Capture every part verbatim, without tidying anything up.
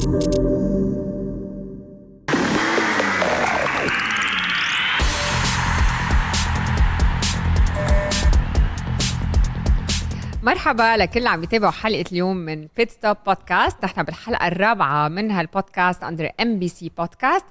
مرحبا لكل اللي عم يتابعوا حلقة اليوم من بيت ستوب بودكاست. نحن بالحلقة الرابعة من هالبودكاست أندر إم بي سي بودكاست،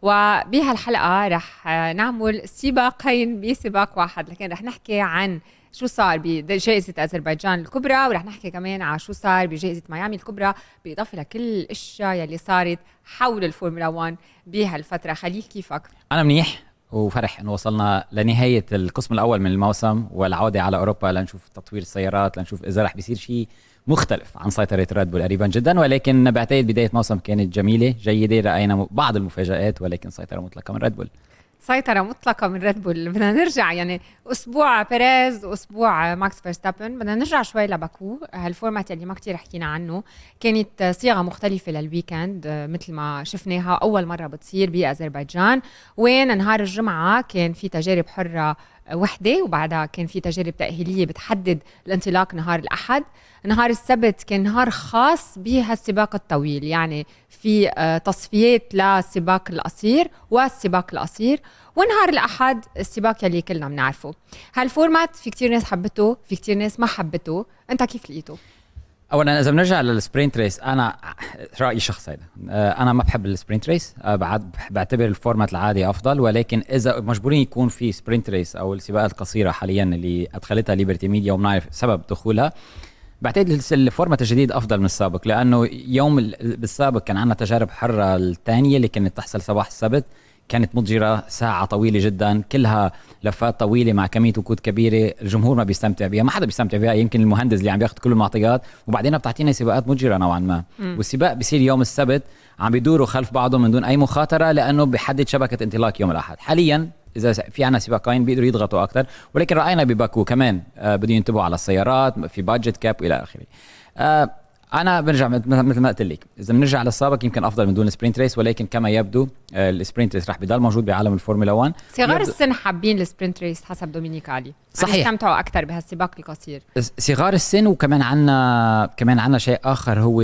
وبهالحلقة رح نعمل سباقين بسباق واحد، لكن رح نحكي عن شو صار بجائزة أذربيجان الكبرى، ورح نحكي كمان عن شو صار بجائزة ميامي الكبرى، بالإضافة لكل الأشياء يلي صارت حول الفورمولا واحد بهالفترة. خليل كيفك؟ أنا منيح وفرح إنه وصلنا لنهاية القسم الأول من الموسم والعودة على أوروبا لنشوف تطوير السيارات، لنشوف إذا رح بيصير شيء مختلف عن سيطرة ريد بول قريبا جدا. ولكن بعتقد بداية موسم كانت جميلة جيدة، رأينا بعض المفاجآت ولكن سيطرة مطلقة من ريد بول. سيطرة مطلقة من ريد بول. بدنا نرجع يعني أسبوع بيريز وأسبوع ماكس فيرستابن، بدنا نرجع شوي لباكو. هالفورمات اللي ما كتير حكينا عنه كانت صيغة مختلفة للويكند مثل ما شفناها أول مرة بتصير بأذربيجان، وين نهار الجمعة كان في تجارب حرة وحدة، وبعدها كان في تجارب تأهيلية بتحدد الانطلاق نهار الأحد. نهار السبت كان نهار خاص بهالسباق الطويل، يعني في تصفيات للسباق القصير والسباق القصير، ونهار الأحد السباق يلي كلنا بنعرفه. هالفورمات في كتير ناس حبته، في كتير ناس ما حبته. انت كيف لقيته؟ اولا اذا بنرجع للسبرينت ريس، انا رايي شخصي هذا، انا ما بحب السبرينت ريس، بعد بعتبر الفورمات العادي افضل. ولكن اذا مجبورين يكون في سبرينت ريس او السباقات القصيره حاليا اللي ادخلتها ليبرتي ميديا وبنعرف سبب دخولها، بعتقد الفورمات الجديد افضل من السابق، لانه يوم بالسابق كان عندنا تجارب حره الثانيه اللي كانت تحصل صباح السبت، كانت متجرة ساعة طويلة جدا، كلها لفات طويلة مع كمية وقود كبيرة، الجمهور ما بيستمتع بيها، ما حدا بيستمتع بيها، يمكن المهندس اللي عم بياخد كل المعطيات، وبعدين بتعطينا سباقات متجرة نوعا ما. م. والسباق بيصير يوم السبت عم بيدوروا خلف بعضهم من دون أي مخاطرة، لأنه بيحدد شبكة انطلاق يوم الأحد. حاليا إذا في عنا سباقين بيقدروا يضغطوا أكتر، ولكن رأينا بباكو كمان آه بدهم ينتبهوا على السيارات في بادجت كاب وإلى آخره. آه أنا برجع مثل ما قلت لك، إذا بنرجع للسابق يمكن أفضل من دون السبرينت ريس، ولكن كما يبدو السبرينت ريس رح بيضل موجود بعالم الفورمولا واحد. صغار السن حابين السبرينت ريس حسب دومينيك علي، صحيح، استمتعوا أكتر بهالسباق القصير. صغار السن، وكمان عنا كمان عنا شيء آخر هو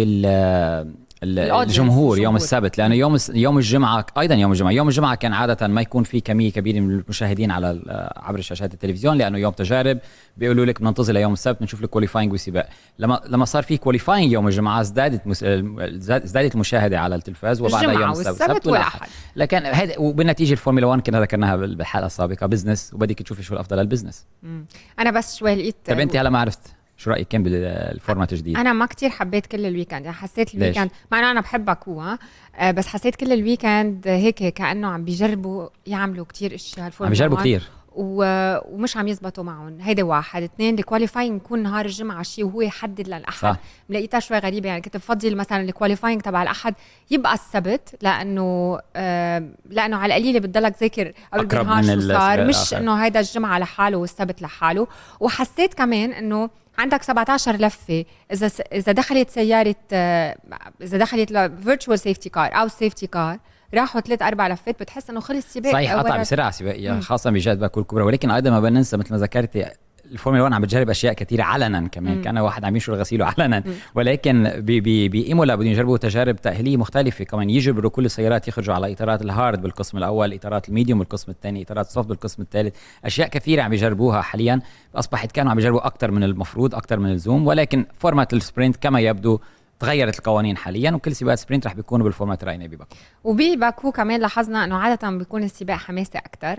الجمهور يوم السبت، لأنه يوم يوم الجمعة أيضا يوم الجمعة يوم الجمعة كان عادة ما يكون في كمية كبيرة من المشاهدين على عبر شاشات التلفزيون، لأنه يوم تجارب بيقولوا لك بننتظر ليوم السبت بنشوف الكواليفاينج والسباق. لما لما صار في كواليفاينج يوم الجمعة ازدادت مس... ازدادت المشاهدة على التلفاز، وبعد يوم السبت, السبت والأحد. لكن هذا وبالنتيجة الفورمولا واحد كنا ذكرناها بالحلقة السابقة بزنس، وبدك تشوفي شو الأفضل للبزنس. أنا بس شوي لقيت. طب أنت هلا ما عرفت شو رأيك كان بالفورمات الجديد؟ أنا ما كتير حبيت كل الويكند، يعني حسيت الويكند مع أنه أنا بحبك هو أه بس حسيت كل الويكند هيك كأنه عم بيجربوا يعملوا كتير إشياء الفورمولا، عم بيجربوا كتير و... ومش عم يزبطوا معهم. هيدا واحد. اثنين، الكواليفاينج يكون نهار الجمعة شيء وهو يحدد للأحد، ملاقيتها شوي غريبة. يعني كنت بفضل مثلا الكواليفاينج تبع الأحد يبقى السبت، لأنه آه لأنه على القليلة بتضلك ذاكر قبل بالنهار شو صار، مش إنه هيدا الجمعة لحاله والسبت لحاله. وحسيت كمان إنه عندك سبعة عشر لفة، إذا إذا دخلت سيارة آه إذا دخلت virtual safety car أو safety car راحوا ثلاث أربع لفات، بتحس إنه خلص السباق. صحيح، قطع بسرعة سباقية خاصة بجهة باكو الكبرى. ولكن أيضا ما بننسى مثل ما ذكرتي الفورمولا واحد عم بتجرب أشياء كثيرة علنا كمان. مم. كان واحد عم ينشر غسيله علنا. مم. ولكن بإيمولا بدهم يجربوا تجارب تأهيلية مختلفة كمان، يجبروا كل السيارات يخرجوا على إطارات الهارد بالقسم الأول، إطارات الميديوم بالقسم الثاني، إطارات السوفت بالقسم الثالث. أشياء كثيرة عم يجربوها حاليا، أصبحت كانوا عم يجربوا أكثر من المفروض، أكثر من اللزوم. ولكن فورمات السبرينت كما يبدو تغيرت القوانين حاليا، وكل سباقات سبرينت رح بيكونوا بالفورمات راينا بباكو. وبباكو كمان لاحظنا انه عاده بيكون السباق حماسي اكثر.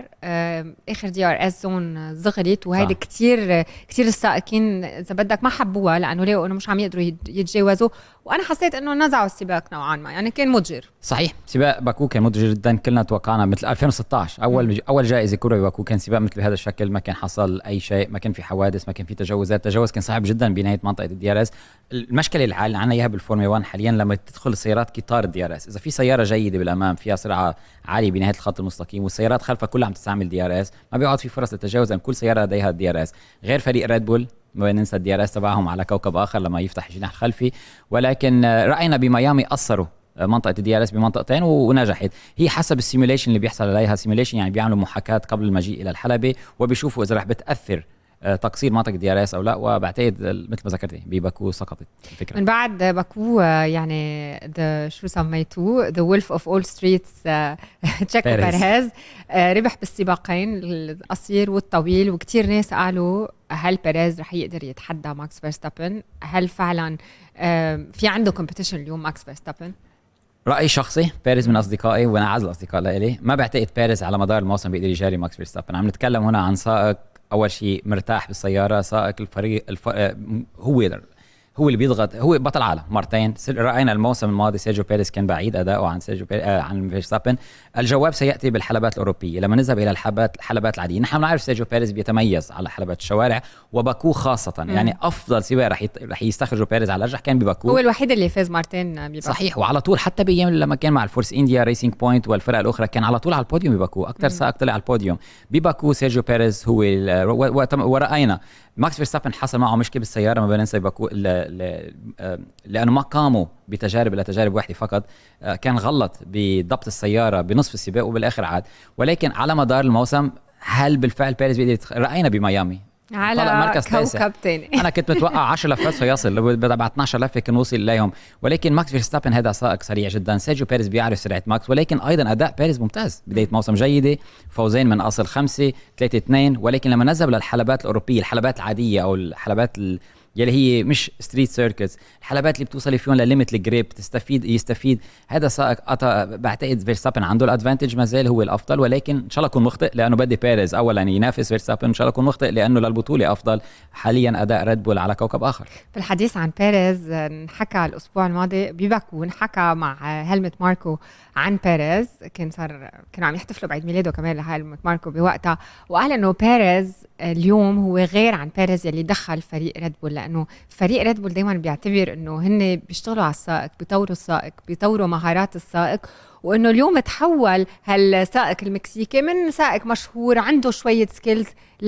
اخر دي ار اس زون صغرت، وهيدي كتير كتير السائقين اذا بدك ما حبوها، لانه لقوا انه مش عم يقدروا يتجاوزوا. وانا حسيت انه نزعوا السباق نوعا ما، يعني كان متجر. صحيح، سباق باكو كان متجر جدا، كلنا توقعنا مثل ألفين وستة عشر اول م. اول جائزه كبرى بباكو كان سباق مثل هذا الشكل، ما كان حصل اي شيء، ما كان في حوادث، ما كان في تجاوزات، تجاوز كان صعب جدا بنهايه منطقه الدي ار اس. المشكله اللي عندنا اياها بالفورمولا واحد حاليا لما تدخل السيارات قطار الدي ار اس، اذا في سياره جيده بالامام فيها سرعه عاليه بنهايه الخط المستقيم والسيارات خلفها كلها عم تستعمل دي ار اس، ما بيقعد في فرص للتجاوز، لان كل سياره لديها الدي ار اس. غير فريق ريد بول ما ننسى الدي ار اس تبعهم على كوكب اخر لما يفتح الجناح الخلفي. ولكن راينا بميامي قصروا منطقه الدي ار اس بمنطقتين ونجحت. هي حسب السيموليشن اللي بيحصل عليها، سيموليشن يعني بيعملوا محاكاه قبل المجيء الى الحلبه، وبيشوفوا اذا رح بتاثر تقصير منطقه دي ار اس او لا. وبعتقد مثل ما ذكرتي بباكو سقطت الفكره. من بعد باكو يعني the شو سميتوه the wolf of all streets تشيكو بيريز ربح بالسباقين القصير والطويل، وكتير ناس قالوا هل بيريز رح يقدر يتحدى ماكس فيرستابن؟ هل فعلا في عنده كومبيتيشن اليوم ماكس فيرستابن؟ رأي شخصي، بيريز من أصدقائي وأنا أعز الأصدقاء لإلي، ما بعتقد بيريز على مدار الموسم بيقدر يجاري ماكس فيرستابن. عم نتكلم هنا عن سائق أول شيء مرتاح بالسيارة، سائق الفريق الف... هو يقدر هو اللي بيضغط، هو بطل عالم مرتين. راينا الموسم الماضي سيرجيو بيريز كان بعيد اداؤه عن سيرجيو بيريز آه عن فيرستابن. الجواب سياتي بالحلبات الاوروبيه لما نذهب الى الحلبات الحلبات العاديه. نحن نعرف سيرجيو بيريز بيتميز على حلبات الشوارع وباكو خاصه، م. يعني افضل سباق رح يت... رح يستخرجوا بيريز على الارجح كان بباكو. هو الوحيد اللي فاز مرتين بباكو صحيح، وعلى طول حتى بايام لما كان مع الفورس انديا ريسينج بوينت والفرق الاخرى كان على طول على البوديوم بباكو، اكثر سائق طلع على البوديوم بباكو سيرجيو بيريز هو ال... و... و... وراينا ماكس فيرستابن حصل معه مشكله بالسياره ما بننسى باكو ل... ل... لانه ما قاموا بتجارب، لا تجارب واحده فقط، كان غلط بضبط السياره بنصف السباق وبالاخر عاد. ولكن على مدار الموسم هل بالفعل بيريز بيقدر يتخ... راينا بميامي على كوكب تاني. انا كنت متوقع عشر لفات سيصل، بعد اثناشر لفه كان وصل اليهم، ولكن ماكس فيرستابن هذا سائق سريع جدا. سيرجيو بيريز بيعرف سرعه ماكس، ولكن ايضا اداء بيريز ممتاز، بدايه موسم جيده، فوزين من اصل خمسه، ثلاثة اثنين. ولكن لما نذهب للحلبات الاوروبيه، الحلبات العاديه او الحلبات ال... يلي هي مش ستريت سيركتس، الحلبات اللي بتوصل فيهم لليميت الجريب تستفيد يستفيد هذا سائق أطا. بعتقد فيرستابن عنده الادفانتج، ما زال هو الافضل، ولكن ان شاء الله اكون مخطئ لانه بدي بيريز اولا ينافس فيرستابن، ان شاء الله اكون مخطئ لانه للبطوله افضل. حاليا اداء ريد بول على كوكب اخر. في الحديث عن بيريز نحكى الاسبوع الماضي بباكو، نحكى مع هيلمت ماركو عن بيريز، كان صار كانوا عم يحتفلوا بعيد ميلاده كمان لهيلمت ماركو بوقتها، وقال انه بيريز اليوم هو غير عن بيريز يلي دخل فريق ريد بول، لانه فريق ريد بول دايما بيعتبر انه هن بيشتغلوا على السائق، بيطوروا السائق، بيطوروا مهارات السائق، وانه اليوم تحول هالسائق المكسيكي من سائق مشهور عنده شويه سكيلز ل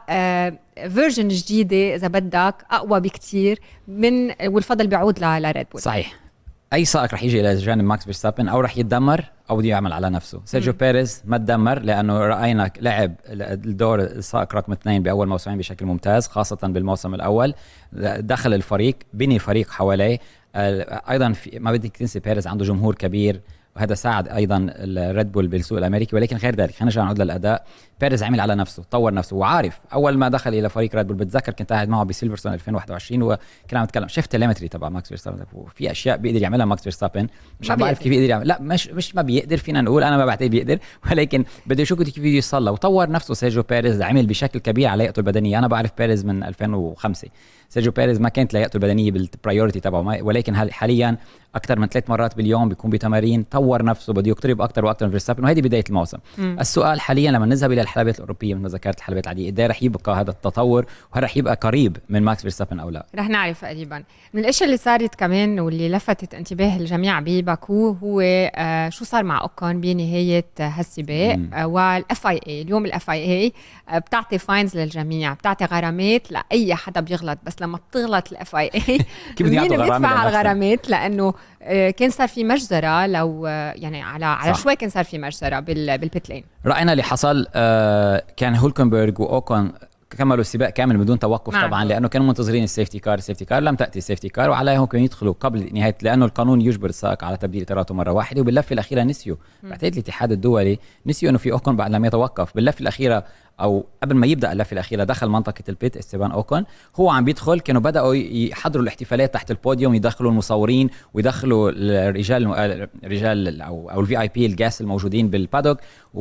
فيرجن جديده اذا بدك اقوى بكتير من، والفضل بيعود لريد بول. صحيح، اي سائق رح يجي الى جانب ماكس فيرستابن او رح يتدمر او بده يعمل على نفسه. سيرجيو بيريز ما تدمر لانه راينا لعب الدور السائق رقم اثنين باول موسمين بشكل ممتاز، خاصه بالموسم الاول دخل الفريق، بني فريق حواليه. ايضا في ما بدك تنسي بيريز عنده جمهور كبير، وهذا ساعد ايضا الريد بول بالسوق الامريكي. ولكن غير ذلك خلينا نرجع نعود للاداء. بيريز عمل على نفسه، طور نفسه، وعارف اول ما دخل الى فريق ريد بول بتذكر كنت قاعد معه بسيلفرستون ألفين وواحد وعشرين وكنا عم نتكلم، شفت التليمتري تبع ماكس فيرستابن، في اشياء بيقدر يعملها ماكس فيرستابن مش عم بعرف كيف بيقدر يعمل. لا مش مش ما بيقدر، فينا نقول انا ما بعتقد بيقدر، ولكن بده يشوف كيف بده يصلى. وطور نفسه سيرجيو بيريز، عمل بشكل كبير على لياقته البدنيه. انا بعرف بيريز من ألفين وخمسة، سيرجيو بيريز ما كانت لياقته البدنيه بالبرايورتي تبعه، ولكن حاليا اكثر من ثلاث مرات باليوم بيكون بتمارين، طور نفسه، بده يقترب اكثر واكثر من فيرستابن، وهذه بدايه الموسم. م. السؤال حاليا لما نذهب الى الحلبات الاوروبيه مثل ما ذكرت الحلبات العاديه، قد رح يبقى هذا التطور وهل رح يبقى قريب من ماكس فيرستابن او لا؟ رح نعرف قريبا. من الاشياء اللي صارت كمان واللي لفتت انتباه الجميع بباكو هو آه شو صار مع اوكون بنهايه هالسباق. آه والاف اي اي اليوم الاف اي اي آه بتعطي فاينز للجميع، بتعطي غرامات لاي حدا بيغلط، بس لما بتغلط الاف اي اي مين بيدفع على الغرامات؟ لانه آه كان صار في مجزره، لو آه يعني على على شوي كان صار في مجزره بالبيت لين. راينا اللي حصل آه كان هولكنبرغ واوكون كملوا السباق كامل بدون توقف نعم. طبعا لانه كانوا منتظرين السيفتي كار، السيفتي كار لم تاتي السيفتي كار، وعليهم كانوا يدخلوا قبل نهايه، لانه القانون يجبر السائق على تبديل اطاراته مره واحده. وباللفه الاخيره نسيوا، بعتقد الاتحاد الدولي نسيوا انه في اوكون بعد لم يتوقف. باللفه الاخيره او قبل ما يبدا اللفه الاخيره دخل منطقه البيت استيفان اوكون، هو عم بيدخل، كانوا بداوا يحضروا الاحتفالات تحت البوديوم، يدخلوا المصورين ويدخلوا الرجال الرجال او او الفي اي بي الجاس الموجودين بالبادوك،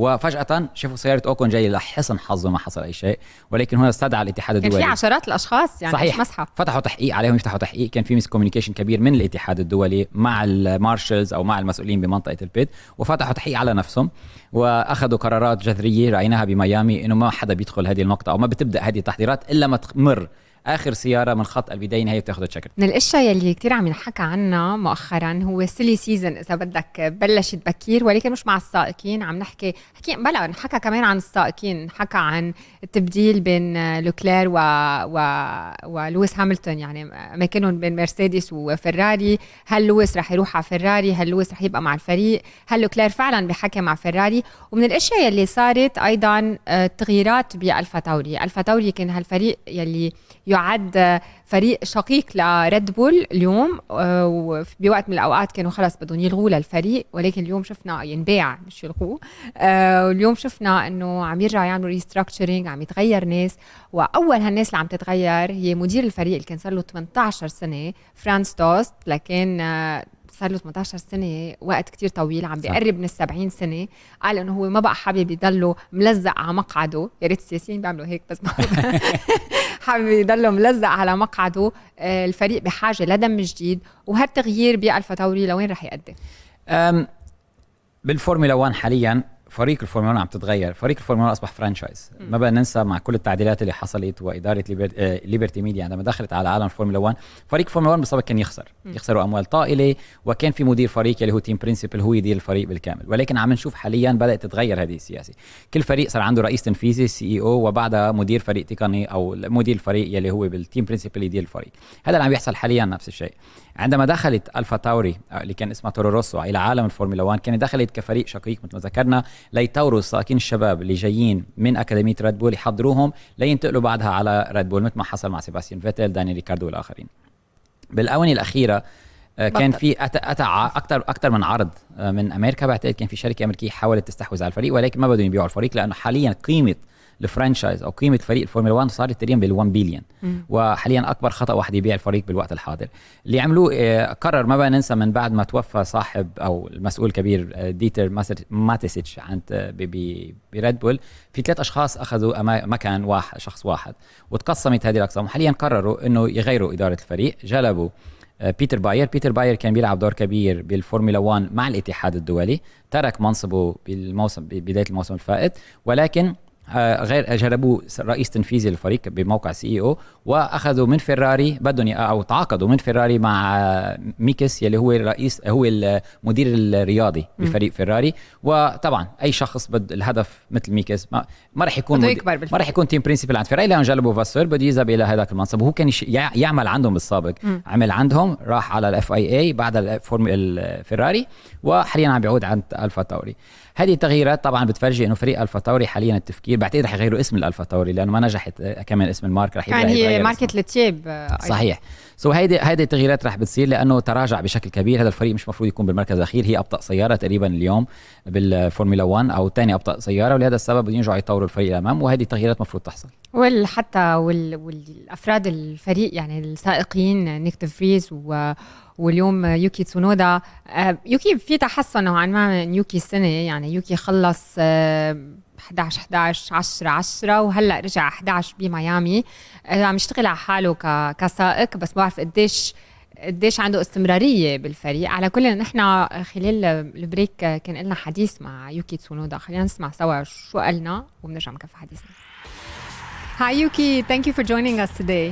وفجاه شافوا سياره اوكون جايه. لحسن حظه ما حصل اي شيء، ولكن هنا استدعى الاتحاد الدولي، كان في عشرات الاشخاص يعني صحيح. مسحه، فتحوا تحقيق عليهم، يفتحوا تحقيق، كان في ميس كوميونيكيشن كبير من الاتحاد الدولي مع المارشلز او مع المسؤولين بمنطقه البيت، وفتحوا تحقيق على نفسهم واخذوا قرارات جذريه رايناها بميامي انه ما حدا بيدخل هذه النقطه او ما بتبدا هذه التحضيرات الا ما تمر اخر سياره من خط البدايه نهايه بتاخذ تشكر. من الاشياء يلي كتير عم ينحكى عنها مؤخرا هو سيلي سيزن اذا بدك بلشت بكير، ولكن مش مع السائقين. عم نحكي حكي بلا نحكى كمان عن السائقين، نحكى عن التبديل بين لوكلير و... و... ولويس هاملتون، يعني اماكنهم بين مرسيدس وفراري. هل لويس رح يروح على فراري؟ هل لويس رح يبقى مع الفريق؟ هل لوكلير فعلا بحكي مع فراري؟ ومن الاشياء يلي صارت ايضا تغييرات بالفا تاوري. الفا تاوري كان هالفريق يلي يعد فريق شقيق لريد بول اليوم، وبوقت من الأوقات كانوا خلص بدهم يلغوا للفريق، ولكن اليوم شفنا ينباع مش يلغوه. واليوم شفنا أنه عم يرجع يعملوا ريستراكتشرينج، عم يتغير ناس. وأول هالناس اللي عم تتغير هي مدير الفريق اللي كان صار له ثمانية عشر سنة، فرانس توست، لكن صار له ثمانية عشر سنة وقت كتير طويل، عم بيقرب من السبعين سنة. قال إنه هو ما بقى حابب يضله ملزق على مقعده. يا ريت السياسيين بيعملوا هيك بس ما حابب يضله ملزق على مقعده. الفريق بحاجة لدم جديد، وهالتغيير بألفا تاوري لوين رح يؤدي؟ بالفورمولا واحد حاليا فريق الفورمولا واحد عم تتغير. فريق الفورمولا واحد أصبح فرانشايز. ما بقى ننسى مع كل التعديلات اللي حصلت وإدارة ليبرتي ميديا عندما دخلت على عالم الفورمولا واحد. فريق الفورمولا واحد بالسابق كان يخسر يخسروا أموال طائلة، وكان في مدير فريق اللي هو تيم برينسيبل هو يدير الفريق بالكامل. ولكن عم نشوف حاليا بدأت تتغير هذه السياسة. كل فريق صار عنده رئيس تنفيذي سي اي او، وبعدها مدير فريق تقني أو مدير الفريق يلي هو بالتيم برينسيبل يدير الفريق. هذا اللي عم يحصل حاليا. نفس الشيء عندما دخلت ألفا تاوري اللي كان اسمها تورو روسو إلى عالم الفورمولا واحد، كانت دخلت كفريق شقيق مثل ما ذكرنا ليطوروا السائقين الشباب اللي جايين من أكاديمية ريد بول، يحضروهم لينتقلوا بعدها على ريد بول مثل ما حصل مع سيباستيان فيتل، دانيال ريكاردو والآخرين. بالآونة الأخيرة كان في أتى أتى أكثر أكثر من عرض من أمريكا. بعتقد كان في شركة أمريكية حاولت تستحوذ على الفريق، ولكن ما بدهم يبيعوا الفريق لأنه حاليا قيمة الفرانشايز او قيمه فريق الفورمولا واحد صارت تقريبا بال1 بليون، وحاليا اكبر خطا واحد يبيع الفريق بالوقت الحاضر. اللي عملوه اه قرر ما بقى ننسى من بعد ما توفى صاحب او المسؤول الكبير اه ديتر ماتيسيتش عند بريد بول، في ثلاث اشخاص اخذوا مكان واحد شخص واحد، وتقسمت هذه الاقسام. وحاليا قرروا انه يغيروا اداره الفريق. جلبوا بيتر باير. بيتر باير كان بيلعب دور كبير بالفورمولا واحد مع الاتحاد الدولي، ترك منصبه بالموسم بدايه الموسم الفائت، ولكن غير جربوا رئيس تنفيذي للفريق بموقع سي اي او، واخذوا من فيراري بدهم او تعاقدوا من فيراري مع ميكس يلي هو الرئيس هو المدير الرياضي بفريق فيراري. وطبعا اي شخص بد الهدف مثل ميكس ما, ما راح يكون مد... ما راح يكون تيم برينسيبل عند فيراري، لانه جلبوا فاسور بده يذهب الى هذاك المنصب. وهو كان يش... يعمل عندهم بالسابق. م. عمل عندهم، راح على الاف اي اي بعد الفيراري، وحاليا عم بيعود عند الفا تاوري. هذه التغييرات طبعا بتفرجي انه فريق الفا تاوري حاليا التفكير بعتقد رح يغيروا اسم الالفا تاوري لانه ما نجحت كمان اسم المارك، رح يبقى يعني هي ماركه التياب. صحيح. سو هيدي هيدي التغييرات رح بتصير لانه تراجع بشكل كبير. هذا الفريق مش مفروض يكون بالمركز الاخير، هي ابطا سياره تقريبا اليوم بالفورمولا واحد او ثاني ابطا سياره، ولهذا السبب بدهم يرجعوا يطوروا الفريق الامام، وهذه التغييرات مفروض تحصل. وحتى وال... والافراد الفريق يعني السائقين نيك فريز و واليوم يوكي تسونودا. يوكي في تحسن نوعا ما من يوكي السنة، يعني يوكي خلص إحدى عشر إحدى عشر عشرة عشرة وهلأ رجع إحدى عشر بميامي. عم يشتغل على حاله كسائق، بس بعرف قديش قديش عنده استمرارية بالفريق. على كل نحن خلال البريك كان لنا حديث مع يوكي تسونودا، خلينا نسمع سوا شو قالنا وبنرجع نكفي حديثنا. Hi Yuki, thank you for joining us today.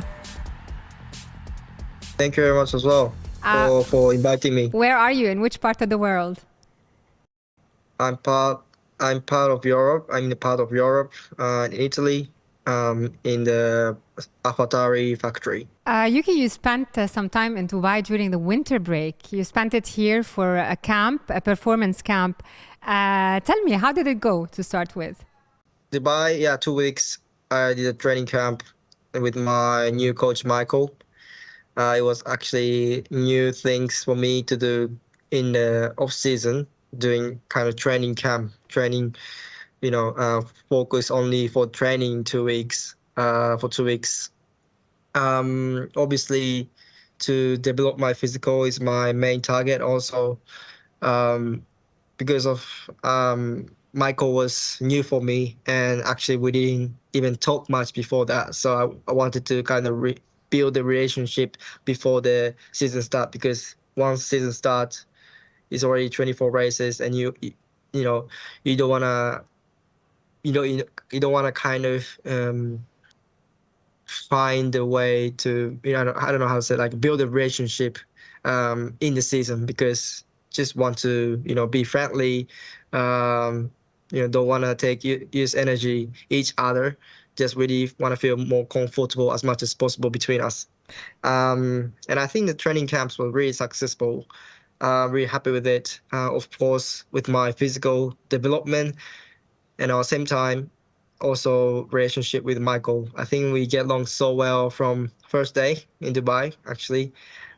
Thank you very much as well. For, uh, for inviting me. Where are you? In which part of the world? I'm part. I'm part of Europe. I'm in a part of Europe, uh, in Italy, um, in the AlphaTauri factory. Uh, Yuki, you spent uh, some time in Dubai during the winter break. You spent it here for a camp, a performance camp. Uh, tell me, how did it go to start with? Dubai, yeah, two weeks. I did a training camp with my new coach, Michael. Uh, it was actually new things for me to do in the off season, doing kind of training camp, training, you know, uh, focus only for training two weeks, uh, for two weeks. Um, obviously, to develop my physical is my main target also, um, because of um, Michael was new for me, and actually we didn't even talk much before that. So I, I wanted to kind of re- build the relationship before the season start, because once season starts, it's already twenty-four races, and you you know you don't wanna you know you, you don't wanna kind of um, find a way to, you know, I don't know how to say, like build a relationship um, in the season, because just want to, you know, be friendly, um, you know, don't want to take use energy each other, just really want to feel more comfortable as much as possible between us. Um, and I think the training camps were really successful. Uh, really happy with it. Uh, of course, with my physical development, and at the same time, also relationship with Michael. I think we get along so well from first day in Dubai, actually.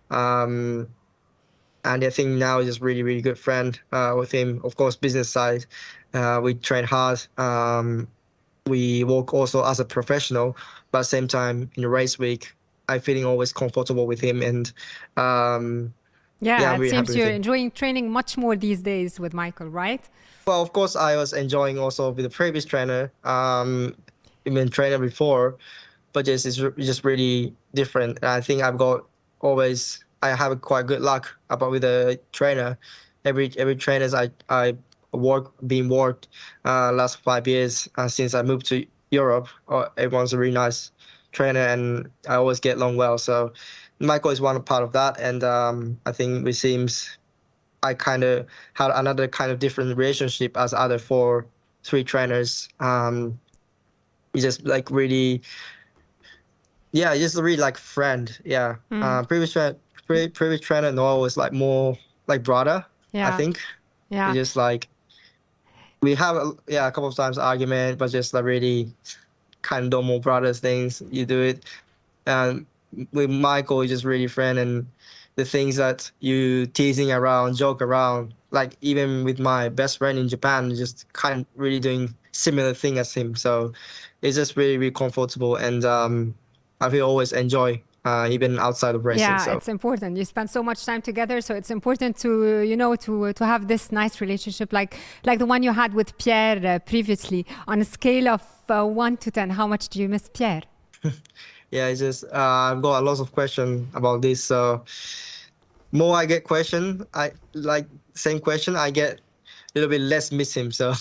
Um, and I think now just really, really good friend uh, with him. Of course, business side, uh, we train hard. Um, we work also as a professional, but at the same time in the race week, I feeling always comfortable with him, and um, Yeah, yeah, I'm it really happy seems with you're him. enjoying training much more these days with Michael, right? Well, of course, I was enjoying also with the previous trainer, um, even trainer before, but just it's re- just really different. And I think I've got always I have a quite good luck about with the trainer. Every every trainers I I work been worked uh last five years uh, since I moved to Europe. Uh, everyone's a really nice trainer, and I always get along well. So Michael is one part of that, and um, I think it seems I kind of had another kind of different relationship as other four three trainers. Um, we just like really Yeah, just really like friend. Yeah. Mm. Uh, previous tra- pre- previous trainer Noah was like more like brother. I Yeah, think yeah. it's just like we have a, yeah a couple of times argument, but just like really kind of normal brothers things. You do it, and with Michael, it's just really friend, and the things that you teasing around, joke around, like even with my best friend in Japan, just kind of really doing similar thing as him. So it's just really really comfortable, and um, I will always enjoy uh, even outside of racing. Yeah, So it's important. You spend so much time together, so it's important to you know to to have this nice relationship, like like the one you had with Pierre uh, previously. On a scale of uh, one to ten, how much do you miss Pierre? yeah, it's just uh, I've got a lot of questions about this. So more I get question, I like same question, I get a little bit less miss him. So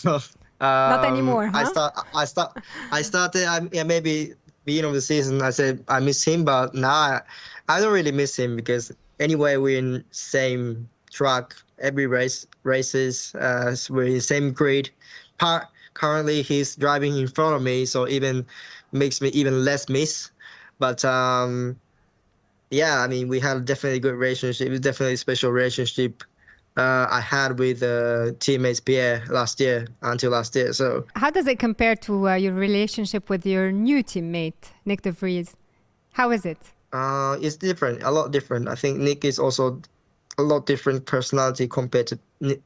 Not um, anymore, I huh? start, I start, I started. I, yeah, maybe beginning of the season, I said I miss him, but now I, I don't really miss him because anyway we're in same track every race races. Uh, so we're in same grid. Part currently he's driving in front of me, so even makes me even less miss. But um, yeah, I mean, we had definitely a good relationship. It was definitely a special relationship uh, I had with uh, teammates Pierre last year until last year. So How does it compare to uh, your relationship with your new teammate, Nick De Vries? How is it? uh, it's different, a lot different. I think Nick is also a lot different personality compared to Ni-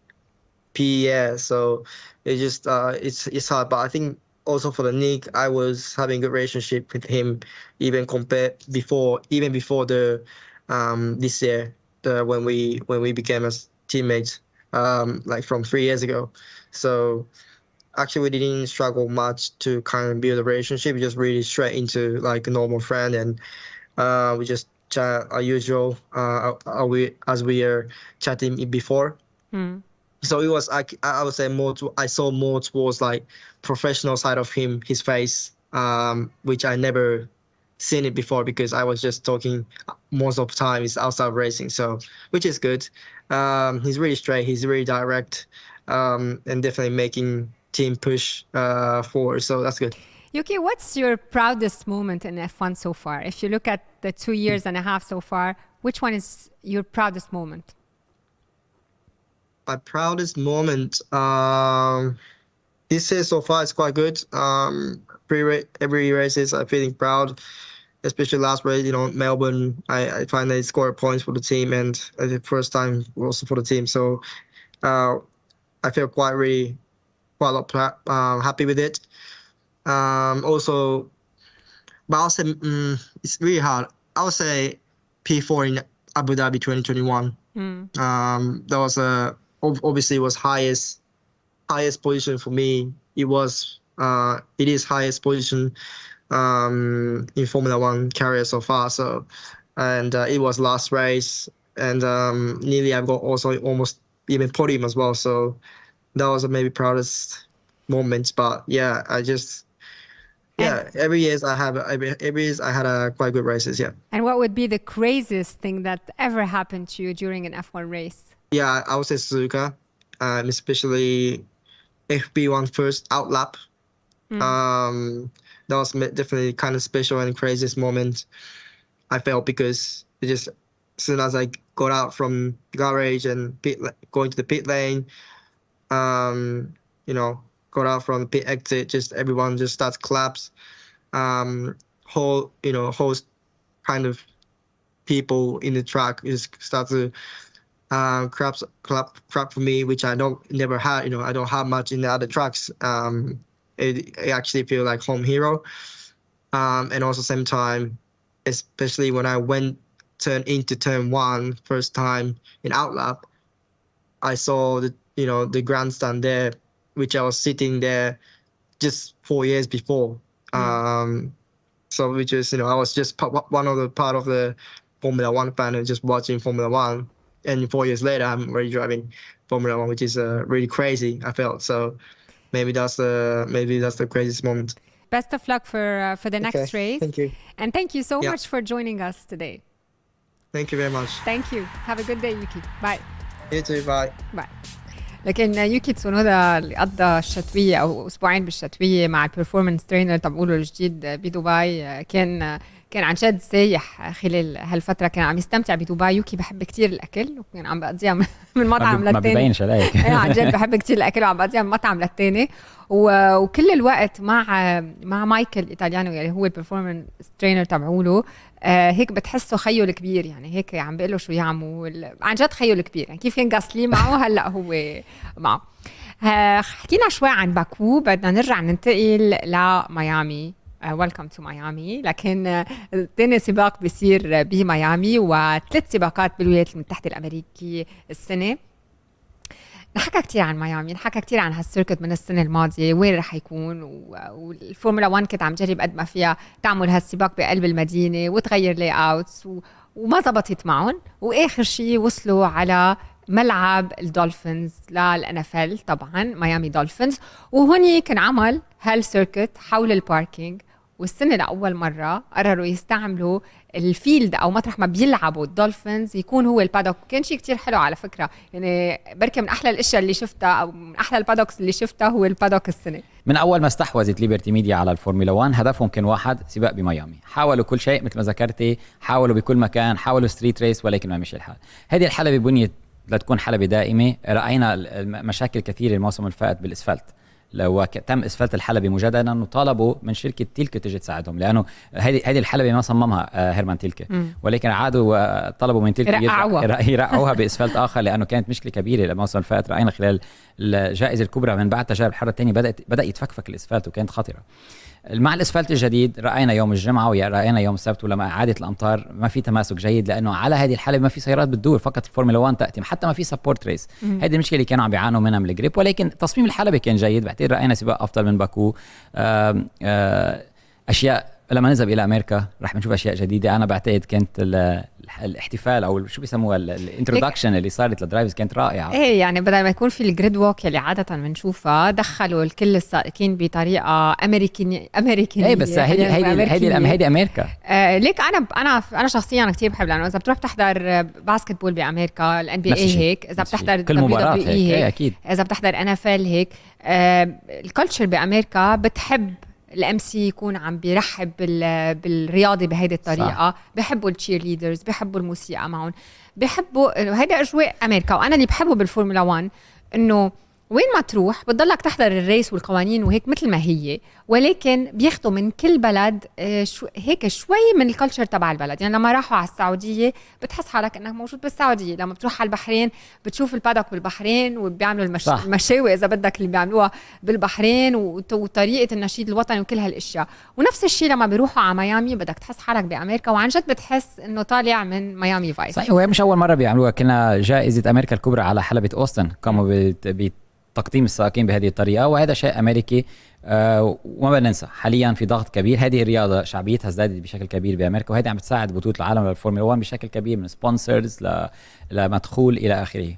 Pierre. So it's just uh, it's it's hard. But I think also for the Nick, I was having a good relationship with him even compared before even before the um, this year the when we when we became as teammates um, like from three years ago. So actually we didn't struggle much to kind of build a relationship. We just really straight into like a normal friend, and uh, we just chat our usual uh, uh, we as we are chatting before. Mm. So it was I, I would say more to, I saw more towards like professional side of him, his face, um, which I never seen it before because I was just talking most of the time is outside racing. So which is good. Um, he's really straight, he's really direct, um, and definitely making team push uh, forward. So that's good. Yuki, what's your proudest moment in F one so far? If you look at the two years and a half so far, which one is your proudest moment? My proudest moment um, this year so far is quite good. Um, pre every races I'm feeling proud, especially last race, you know, Melbourne. I, I finally scored points for the team, and uh, the first time also for the team. So uh, I feel quite really quite a lot pra- uh, happy with it. Um, also, but I'll say mm, it's really hard. I would say P four in Abu Dhabi twenty twenty-one. Mm. Um, that was a ob- obviously was highest highest position for me. It was uh, it is highest position um, in Formula One career so far. So, and uh, it was last race, and um, nearly I got also almost even podium as well. So that was maybe proudest moments. But yeah, I just Yeah, every years I have every every years I had a quite good races. Yeah. And what would be the craziest thing that ever happened to you during an F one race? Yeah, I would say Suzuka, um, especially F P one first out lap. Mm. Um, that was definitely kind of special and craziest moment I felt, because it just as soon as I got out from the garage and pit, going to the pit lane, um, you know, got out from the pit exit, just everyone just starts claps. Um, whole, you know, whole kind of people in the track just start to uh, clap, clap, clap for me, which I don't never had. You know, I don't have much in the other tracks. Um, it, it actually feel like home hero. Um, and also same time, especially when I went turn into turn one first time in outlap, I saw the you know the grandstand there, which I was sitting there just four years before. Mm. Um, so which is you know I was just one of the part of the Formula One fan and just watching Formula One, and four years later I'm already driving Formula One, which is uh, really crazy. I felt so. Maybe that's the maybe that's the craziest moment. Best of luck for uh, for the next okay, race. Thank you. And thank you so yeah. much for joining us today. Thank you very much. Thank you. Have a good day, Yuki. Bye. You too. Bye. Bye. لكن يوكي تسونودا اللي قضى الشتوية أو أسبوعين بالشتوية مع البرفورمانس ترينر تبعوله الجديد بدبي، كان كان عن جد سايح خلال هالفترة، كان عم يستمتع بدبي. يوكي بحب كتير الأكل وكان عم بقضيها من مطعم للتاني. ما بيبينش عليك. عن جد بحب كتير الأكل وعم بقضيها من مطعم للتاني، وكل الوقت مع مع مايكل إيطاليانو اللي هو البرفورمانس ترينر تبعوله. آه هيك بتحسه خيو الكبير، يعني هيك عم بيقله شو يعمل، عن جد خيو الكبير، يعني كيف كان غاسلي معه هلا هو معه. آه حكينا شوي عن باكو، بدنا نرجع ننتقل لميامي. ويلكم تو ميامي. لكن ثاني سباق بيصير بميامي وثلاث سباقات بالولايات المتحدة الأمريكية السنة. نحكى كتير عن ميامي، نحكى كتير عن هالسيركت من السنة الماضية وين رح يكون، والفورمولا واحد كانت عم جرب قد ما فيها تعمل هالسباق بقلب المدينة وتغير لاي اوتس وما زبطت معهم، وآخر شيء وصلوا على ملعب الدولفينز للان اف ال، طبعا ميامي دولفينز. وهوني كان عمل هالسيركت حول الباركينج، والسنة لأول مرة قرروا يستعملوا الفيلد أو مطرح ما بيلعبوا الدولفينز يكون هو البادوك. كان شيء كتير حلو على فكرة، يعني بركة من أحلى الأشياء اللي شفتها أو من أحلى البادوكس اللي شفتها هو البادوك السنة. من أول ما استحوذت ليبرتي ميديا على الفورمولا واحد هدفهم كان واحد، سباق بميامي. حاولوا كل شيء مثل ما ذكرتي، حاولوا بكل مكان، حاولوا ستريت ريس، ولكن ما مشي الحال. هذه الحلبة بنيت لتكون حلبة دائمة. رأينا مشاكل كثيرة الموسم الفائت بالإسفلت، لو تم اسفلت الحلبة مجددا، وطالبوا من شركه تيلكا تجي تساعدهم، لانه هذه هذه الحلبة ما صممها هيرمان تيلكا، ولكن عادوا طلبوا من تيلكا يرقعوها باسفلت اخر، لانه كانت مشكله كبيره الموسم اللي فات. راينا خلال الجائزه الكبرى من بعد تجارب الحاره الثانيه بدات بدا يتفكفك الاسفلت وكانت خطره. مع الاسفلت الجديد راينا يوم الجمعه وراينا يوم السبت ولما عادت الامطار ما في تماسك جيد، لانه على هذه الحلبة ما في سيارات بتدور، فقط الفورمولا واحد تاتي، حتى ما في سبورت ريس. هذه المشكله اللي كانوا عم بيعانوا منها من الجريب، ولكن تصميم الحلبة كان جيد. بعتقد راينا سباق افضل من باكو. آآ آآ اشياء لما نذهب الى امريكا رح نشوف اشياء جديده. انا بعتقد كانت الاحتفال او شو بيسموها الانترودكشن اللي صارت للدرايفرز كانت رائعه. ايه يعني بدل ما يكون في الجريد ووك اللي عاده بنشوفها، دخلوا الكل السائقين بطريقه امريكانيه امريكانيه. ايه بس هيدي هيدي هيدي هيدي امريكا. آه ليك انا انا انا شخصيا كثير بحب، لانه اذا بتروح تحضر باسكتبول بامريكا الان بي اي هيك، اذا بتحضر كل مباراه هيك. هيك اكيد اذا بتحضر ان اف ال هيك. آه الكالتشر بامريكا بتحب الام سي يكون عم بيرحب بالرياضه بهيدي الطريقه. صح. بحبوا التشير ليدرز، بحبوا الموسيقى معهم، بحبوا هيدا اجواء امريكا. وانا اللي بحبه بالفورمولا واحد انه وين ما تروح بتضلك تحضر الريس والقوانين وهيك مثل ما هي، ولكن بياخدوا من كل بلد شو هيك شوي من الكالتشر تبع البلد. يعني لما راحوا على السعوديه بتحس حالك انك موجود بالسعوديه، لما بتروح على البحرين بتشوف البادوك بالبحرين وبيعملوا المش... المشاوي اذا بدك اللي بيعملوها بالبحرين وط... وطريقه النشيد الوطني وكل هالاشياء. ونفس الشيء لما بيروحوا على ميامي بدك تحس حالك بامريكا، وعن جد بتحس انه طالع من ميامي فايس. صحيح، وهي مش اول مره بيعملوها. كنا جائزه امريكا الكبرى على حلبة اوستن قاموا بت... بت... تقديم السائقين بهذه الطريقة، وهذا شيء أمريكي. آه وما بننسى حاليا في ضغط كبير. هذه الرياضة شعبيتها ازدادت بشكل كبير بأمريكا، وهذه عم بتساعد بطولة العالم للفورمولا واحد بشكل كبير، من سبونسرز ل... لمدخول إلى آخره.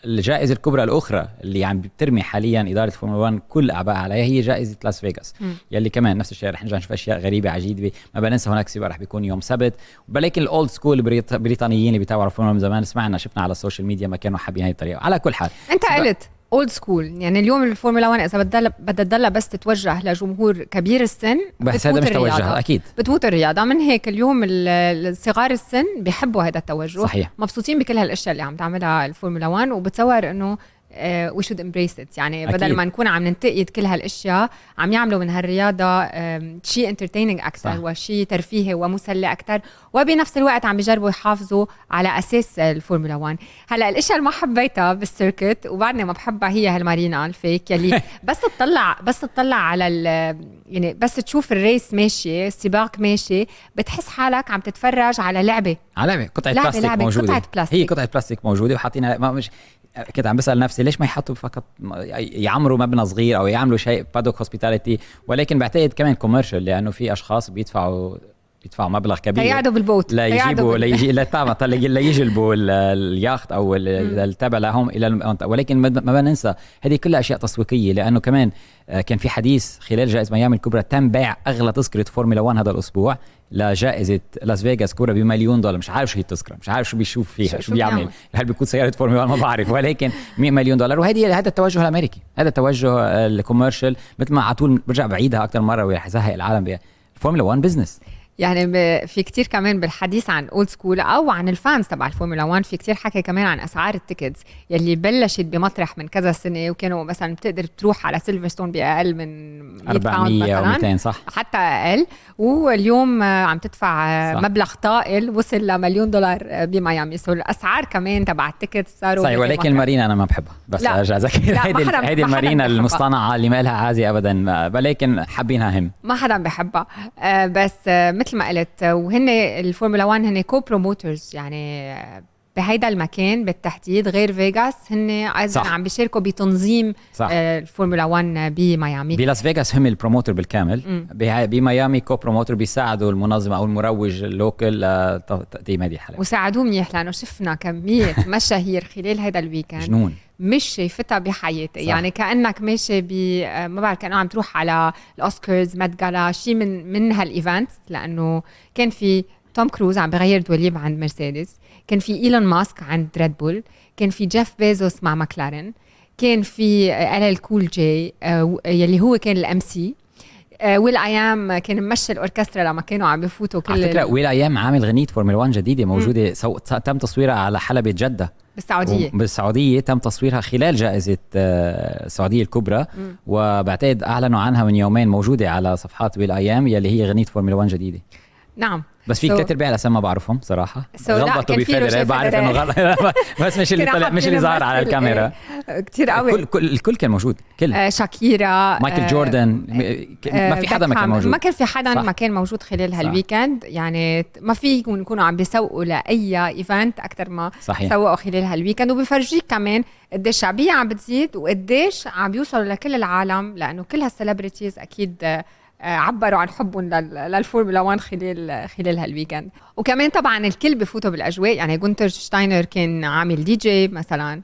الجائزة الكبرى الأخرى اللي عم بترمي حاليا إدارة فورمولا واحد كل أعباء عليها هي جائزة لاس فيغاس، يلي كمان نفس الشيء رح نرجع نشوف أشياء غريبة عجيبة. ما بننسى هناك سباق رح بيكون يوم سبت، ولكن الأولد سكول بريطانيين اللي بيتابعوا فورمولا من زمان سمعنا شفنا على السوشيال ميديا ما كانوا حابين هاي الطريقة. على كل حال أنت قلت اولد سكول، يعني اليوم الفورمولا واحد اذا بدها بدها تضلها بس تتوجه لجمهور كبير السن بس هذا مش توجه اكيد بتفوت الرياضه. من هيك اليوم الصغار السن بيحبوا هذا التوجه، صحيح. مبسوطين بكل هالاشياء اللي عم تعملها الفورمولا واحد، وبتصور انه وي شود امبريس ات، يعني بدل أكيد. ما نكون عم ننتقد كل هالاشياء عم يعملوا من هالرياضه شيء انترتيننج اكثر وشيء ترفيهي ومسلي اكثر، وبنفس الوقت عم بيجربوا يحافظوا على اساس الفورمولا واحد. هلا الاشياء اللي ما حبيتها بالسيركت وبعدني ما بحبها هي هالمارينا الفيك يلي بس تطلع بس تطلع على يعني بس تشوف الريس ماشي السباق ماشي بتحس حالك عم تتفرج على لعبه على لعبه قطعه بلاستيك لعبة موجوده قطعة بلاستيك. هي قطعه بلاستيك موجوده وحاطينها. ما مش كنت عم بسأل نفسي ليش ما يحطوا فقط يعمروا مبنى صغير أو يعملوا شيء بادوك هوسبيتاليتي، ولكن بعتقد كمان كوميرشال لأنه في أشخاص بيدفعوا يدفعوا مبلغ كبير يقعدوا بالبوت لا يجيبوا لا يجي لا طبعا لا يجلبوا الياخت أو التبع لهم إلى الم... ولكن ما بننسى هذه كلها أشياء تسويقية، لأنه كمان كان في حديث خلال جائزة ميامي الكبرى تم بيع أغلى تذكرة فورمولا واحد هذا الأسبوع لجائزة لاس فيغاس كورة بمليون دولار. مش عارف شو هي التذكرة، مش عارف شو بيشوف فيها، شو, شو بيعمل، هل بيكون سيارة فورمولا واحد ما بعرف، ولكن مئة مليون دولار. وهذه هذا التوجه الأمريكي، هذا التوجه الكوميرشال، مثل ما على طول برجع بعيدها أكثر مرة ورح يزهق العالم بها. الفورمولا واحد بزنس. يعني في كتير كمان بالحديث عن اولد سكول او عن الفانز تبع الفورمولا واحد في كتير حكي كمان عن اسعار التيكتس يلي بلشت بمطرح من كذا سنه، وكانوا مثلا بتقدر تروح على سيلفرستون باقل من أربعمية أو مئتين صح حتى اقل، واليوم عم تدفع صح. مبلغ طائل وصل لمليون دولار بميامي. سو الاسعار كمان تبع التيكتس صاروا صحيح. ولكن المارينا انا ما بحبها، بس ارجع اذكر هيدي هيدي المارينا المصطنعه اللي ما لها عازي ابدا، ولكن حابينها هم، ما حدا بحبها. آه بس آه مثل ما قلت، وهن الفورمولا واحد هن كو بروموترز يعني بهيدا المكان بالتحديد غير فيغاس، هن ايضا عم بيشاركوا بتنظيم آه الفورمولا واحد بميامي. بلاس فيغاس هم البروموتر بالكامل، بميامي كو بروموتر بيساعدوا المنظم او المروج اللوكل لتقديم هذه الحلقه، وساعدوه منيح لانه شفنا كميه مشاهير خلال هذا الويكند جنون مش شايفتها بحياتي. صح. يعني كأنك ماشي ب ما بعرف كأنه عم تروح على الأوسكارز مات جالا شيء من من هالإيفنت، لأنه كان في توم كروز عم بغير دوليب عند مرسيدس، كان في إيلون ماسك عند ريد بول، كان في جيف بيزوس مع ماكلارين، كان في ال ال كول جي يلي هو كان الام سي، ويل ايام كان ممشي الاوركسترا لما كانوا عم بفوتوا كل على فكره. ويل ايام عامل غنية فورمولا واحد جديده موجوده سو... تم تصويرها على حلبة جدة بالسعوديه بالسعوديه تم تصويرها خلال جائزه السعوديه الكبرى، م. وبعتقد اعلنوا عنها من يومين، موجوده على صفحات ويل ايام يلي هي غنية فورمولا واحد جديده. نعم. بس في so, كتير بيع الاسم ما بعرفهم صراحه، so غلطوا بفيدرر بعرف انه غلط بس مش اللي طلع مش اللي ظهر على الكاميرا كتير قوي. الكل كل الكل كان موجود، كل آه شاكيرا مايكل آه جوردن آه ما في حدا ما كان موجود، ما كان في حدا صح. ما كان موجود خلال هالويكند. يعني ما في يكونوا عم بيسوقوا لاي ايفنت اكثر ما صحيح. سوقوا خلال هالويكند، وبيفرجيك كمان قديش الشعبيه عم بتزيد وقديش عم بيوصلوا لكل العالم، لانه كل هالسليبرتيز اكيد عبروا عن حبهم للفورمولا واحد خلال خلال هالويكند. وكمان طبعا الكل بفوتوا بالاجواء، يعني غونتر شتاينر كان عامل دي جي مثلا،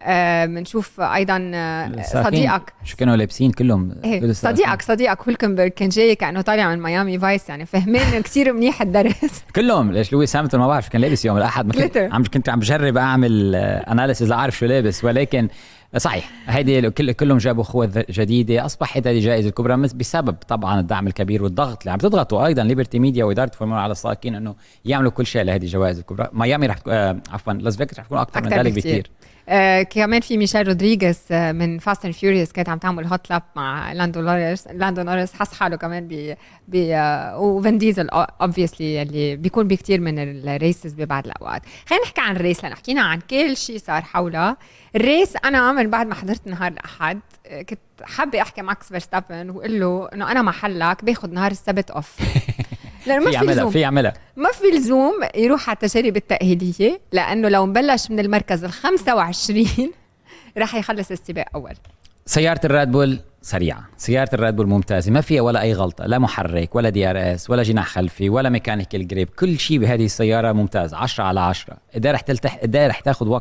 بنشوف آه ايضا آه صديقك شو كانوا لابسين كلهم إيه صديقك صديقك هولكنبرغ كان جاي كانه طالع من ميامي فايس، يعني فهمين كثير منيح الدرس كلهم. ليش لويس هامilton ما بعرف كان لابس يوم الاحد، كنت عم كنت عم بجرب اعمل اناليسيز لاعرف شو لابس، ولكن صحيح هيدي كلهم جابوا خوذ جديده. اصبحت هذه جائزه الكبرى بسبب طبعا الدعم الكبير والضغط اللي عم تضغطوا ايضا ليبرتي ميديا واداره فورمولا على السائقين انه يعملوا كل شيء لهذه الجوائز الكبرى. ميامي رح آه عفوا لاس فيغاس رح تكون اكثر من ذلك بكثير. آه كمان في ميشيل رودريغيز آه من فاست اند فيوريوس كانت عم تعمل هوت لاب مع لاندو نوريس. لاندو نوريس حس حاله كمان ب ب آه وفين ديزل اوبفيسلي اللي بيكون بكثير من الريسز ببعض الاوقات. خلينا نحكي عن الريس لان حكينا عن كل شيء صار حولها. الريس انا من بعد ما حضرت نهار الاحد كنت حابه احكي ماكس فيرستابن واقول له انه انا محلك باخذ نهار السبت اوف لأنه ما في لزوم في يعملها ما في لزوم يروح على التجارب التأهيلية، لأنه لو مبلش من المركز الخمسة وعشرين راح يخلص السباق أول. سيارة الريد بول سريعة، سيارة الريد بول ممتازة، ما فيها ولا أي غلطة، لا محرك ولا دي ار اس ولا جناح خلفي ولا ميكانيكال جريب، كل شيء بهذه السيارة ممتاز، عشرة على عشرة. إذا رح تلتح إذا رح تاخد وقت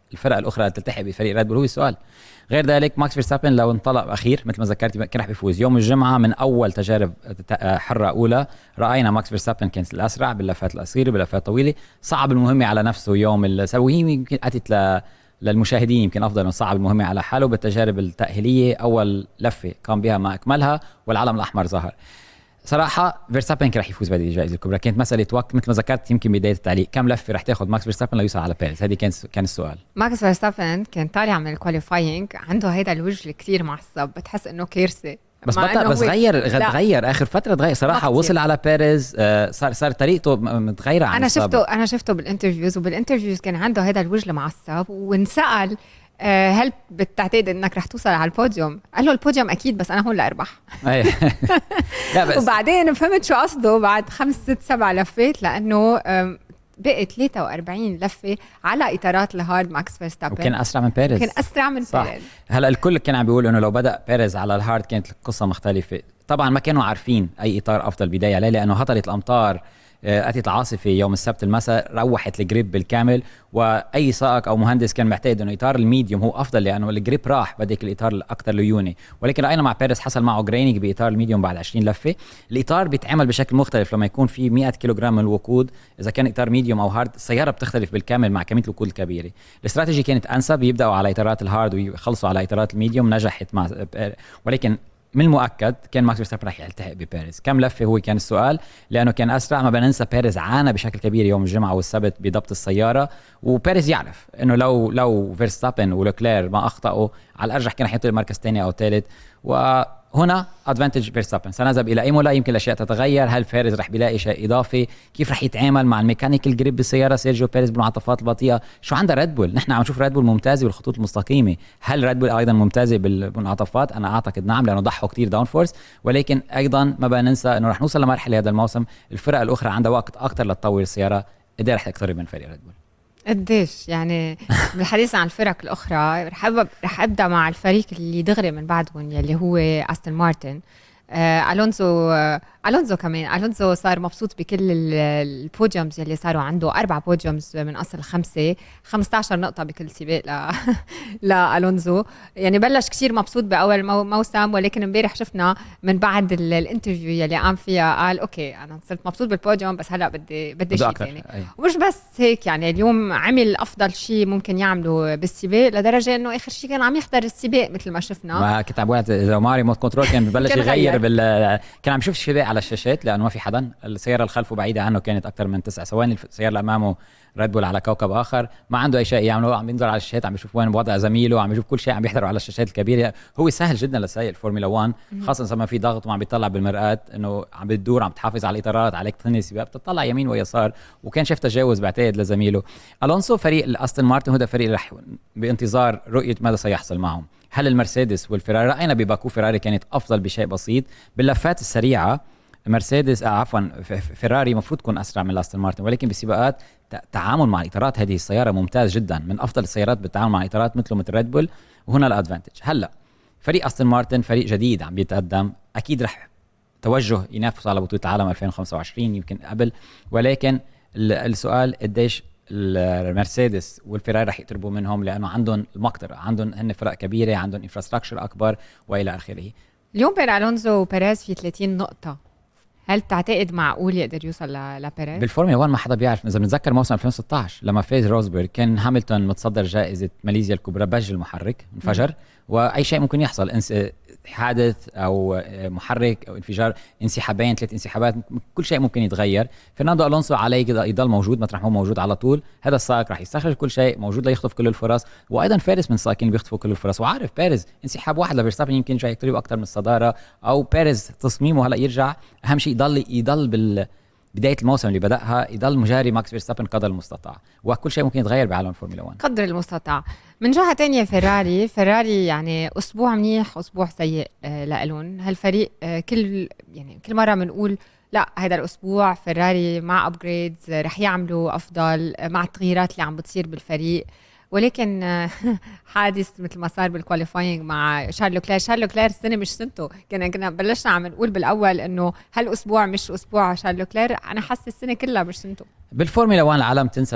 الفرق الاخرى اللي تلتحق بفريق ريد بول هو السؤال. غير ذلك ماكس فيرستابن لو انطلق اخير مثل ما ذكرتي كان رح بيفوز يوم الجمعه من اول تجارب حره اولى. راينا ماكس فيرستابن كانت الاسرع باللفات القصيره باللفات الطويله، صعب المهمه على نفسه يوم السبت، وهي يمكن اتت ل للمشاهدين يمكن افضل من صعب المهمه على حاله. بالتجارب التاهيليه اول لفه قام بها ما اكملها والعلم الاحمر ظهر. صراحه فيرستابن كان رح يفوز بهذه الجائزه الكبرى، كانت مساله وقت مثل ما ذكرت يمكن بدايه التعليق، كم لفه رح تاخذ ماكس فيرستابن ليوصل على بيريز؟ هذه كان كان السؤال. ماكس فيرستابن كان طالع من الكواليفاينج عنده هيدا الوجه كثير معصب، بتحس انه كارثه، بس بطل بس غير غير اخر فتره تغير صراحه، وصل على بيريز آه صار صار طريقته متغيره عن انا شفته انا شفته بالانترفيوز، وبالانترفيوز كان عنده هذا الوجه المعصب، وانسال آه هل بتعتقد انك رح توصل على البوديوم؟ قال له البوديوم اكيد بس انا هون لاربح. لا بس وبعدين فهمت شو قصده بعد خمس ست سبع لفات، لانه بقي ثلاثة وأربعين لفه على اطارات الهارد ماكس فيرستابن، وكان اسرع من بيريز، كان اسرع من صح. بيريز. هلا الكل كان عم بيقول انه لو بدا بيريز على الهارد كانت القصه مختلفه. طبعا ما كانوا عارفين اي اطار افضل بدايه عليه، لانه هطلت الامطار، اتت العاصفه يوم السبت المساء، روحت الجريب بالكامل، واي سائق او مهندس كان معتقد انه اطار الميديوم هو افضل لانه الجريب راح، بدك الاطار الاكثر ليوني. ولكن راينا مع بيريز حصل معه جرينينج باطار الميديوم بعد عشرين لفه. الاطار بيتعمل بشكل مختلف لما يكون في مئة كيلوغرام من الوقود، اذا كان اطار ميديوم او هارد السياره بتختلف بالكامل مع كميه الوقود الكبيره. الاستراتيجي كانت انسب، يبداوا على اطارات الهارد ويخلصوا على اطارات الميديوم، نجحت مع ولكن من المؤكد كان ماكس فيرستابن رح يلتحق ببيريز. كم لفه هو كان السؤال، لانه كان اسرع. ما بننسى بيريز عانى بشكل كبير يوم الجمعه والسبت بضبط السياره، وبيريز يعرف انه لو لو فيرستابن ولوكلير ما اخطاوا على الارجح كان حيطلع مركز ثاني او ثالث، وهنا ادفانتج فيرستابن. سنذهب الى ايمولا، يمكن الاشياء تتغير، هل بيريز رح بيلاقي شيء اضافي، كيف رح يتعامل مع الميكانيكال جريب بالسياره سيرجيو بيريز بالمنعطفات البطيئه، شو عنده ريد بول. نحن عم نشوف ريد بول ممتازه بالخطوط المستقيمه، هل ريد بول ايضا ممتازه بالمنعطفات؟ انا اعتقد نعم، لانه ضحوا كتير داون فورس. ولكن ايضا ما بننسى انه رح نوصل لمرحله هذا الموسم الفرق الاخرى عندها وقت اكثر لتطور السياره، قد رح تقترب من فريق ريد بول. قديش يعني بالحديث عن الفرق الاخرى رح رح ابدا مع الفريق اللي دغري من بعدهم يلي هو استون مارتن. آه الونزو آه الونزو كمان الونزو صار مبسوط بكل البوديومز يلي صاروا عنده، اربع بوديومز من اصل خمسه، خمسة عشر نقطه بكل سباق ل لالونزو. يعني بلش كثير مبسوط باول موسم، ولكن امبارح شفنا من بعد الانترفيو يلي قام فيها قال اوكي انا صرت مبسوط بالبوديوم بس هلا بدي بدي شيء ثاني. ومش بس هيك، يعني اليوم عمل افضل شيء ممكن يعمله بالسباق، لدرجه انه اخر شيء كان عم يحضر السباق مثل ما شفنا. ما كنت عم بقول اذا ماري موت كنترول كان ببلش يغير بال كان عم يشوف السباق على الشاشات، لانه ما في حدا، السياره اللي خلفه بعيده عنه كانت اكثر من تسع ثواني، السياره اللي امامه ريد بول على كوكب اخر، ما عنده اي شيء يعمله، عم ينظر على الشاشات، عم يشوف وين وضع زميله، عم يشوف كل شيء، عم يحضره على الشاشات الكبيره. هو سهل جدا لسائق الفورمولا واحد، خاصه لما في ضغط وعم بيطلع بالمرآة انه عم بتدور، عم تحافظ على الاطارات، عليك تنهي السباق، بتطلع يمين ويسار، وكان شاف تجاوز بعتقد لزميله. الونسو فريق الاستون مارتن هذا فريق رح بانتظار رؤيه ماذا سيحصل معهم. هل المرسيدس والفيراري، راينا بباكو فيراري كانت افضل بشيء بسيط باللفات السريعه، مرسيدس آه عفوا فيراري مفروض تكون اسرع من استون مارتن، ولكن بسباقات تعامل مع الاطارات هذه السياره ممتاز جدا، من افضل السيارات بالتعامل مع الاطارات مثله مثل ريد بول، وهنا الادفانتج. هلا فريق استون مارتن فريق جديد عم بيتقدم، اكيد رح توجه ينافس على بطوله العالم ألفين وخمسة وعشرين يمكن قبل، ولكن السؤال قديش المرسيدس والفيراري رح يقتربوا منهم، لانه عندهم المقدره، عندهم هن فرق كبيره، عندهم انفراستراكشر اكبر والى اخره. اليوم بين الونزو وبيريز في ثلاثين نقطه، هل تعتقد معقول يقدر يوصل لبيريز؟ بالفورمولا واحد ما حدا بيعرف. اذا بنتذكر موسم ألفين وستة عشر لما فاز روزبرغ، كان هاملتون متصدر جائزه ماليزيا الكبرى، بج المحرك انفجر، واي شيء ممكن يحصل، حادث او محرك او انفجار، انسحابين، ثلاث انسحابات، كل شيء ممكن يتغير. فرناندو الونسو عليه يضل موجود مطرح هو موجود على طول، هذا السائق راح يستخرج كل شيء، موجود ليخطف كل الفرص، وايضا فارس من السائقين بيخطفوا كل الفرص، وعارف بيريز انسحاب واحد لفيرستابن يمكن جاي يقترب اكثر من الصداره، او بيريز تصميمه هلا يرجع، اهم شيء يضل يضل بال بداية الموسم اللي بدأها يضل مجاري ماكس فيرستابن قدر المستطاع، وكل شيء ممكن يتغير بعالم الفورمولا واحد قدر المستطاع. من جهة تانية فيراري فيراري يعني أسبوع منيح أسبوع سيء آه لألون هالفريق. آه كل يعني كل مرة بنقول لا هذا الأسبوع فيراري مع أبجريدز رح يعملوا أفضل آه مع التغييرات اللي عم بتصير بالفريق، ولكن آه حادث مثل ما صار بالكواليفاينج مع شارل لوكلير. شارل لوكلير السنة مش سنته، كنا كنا بلشنا عم نقول بالأول إنه هالأسبوع مش أسبوع شارل لوكلير، أنا حاسة السنة كلها مش سنته. بالفورمولا واحد العالم تنسى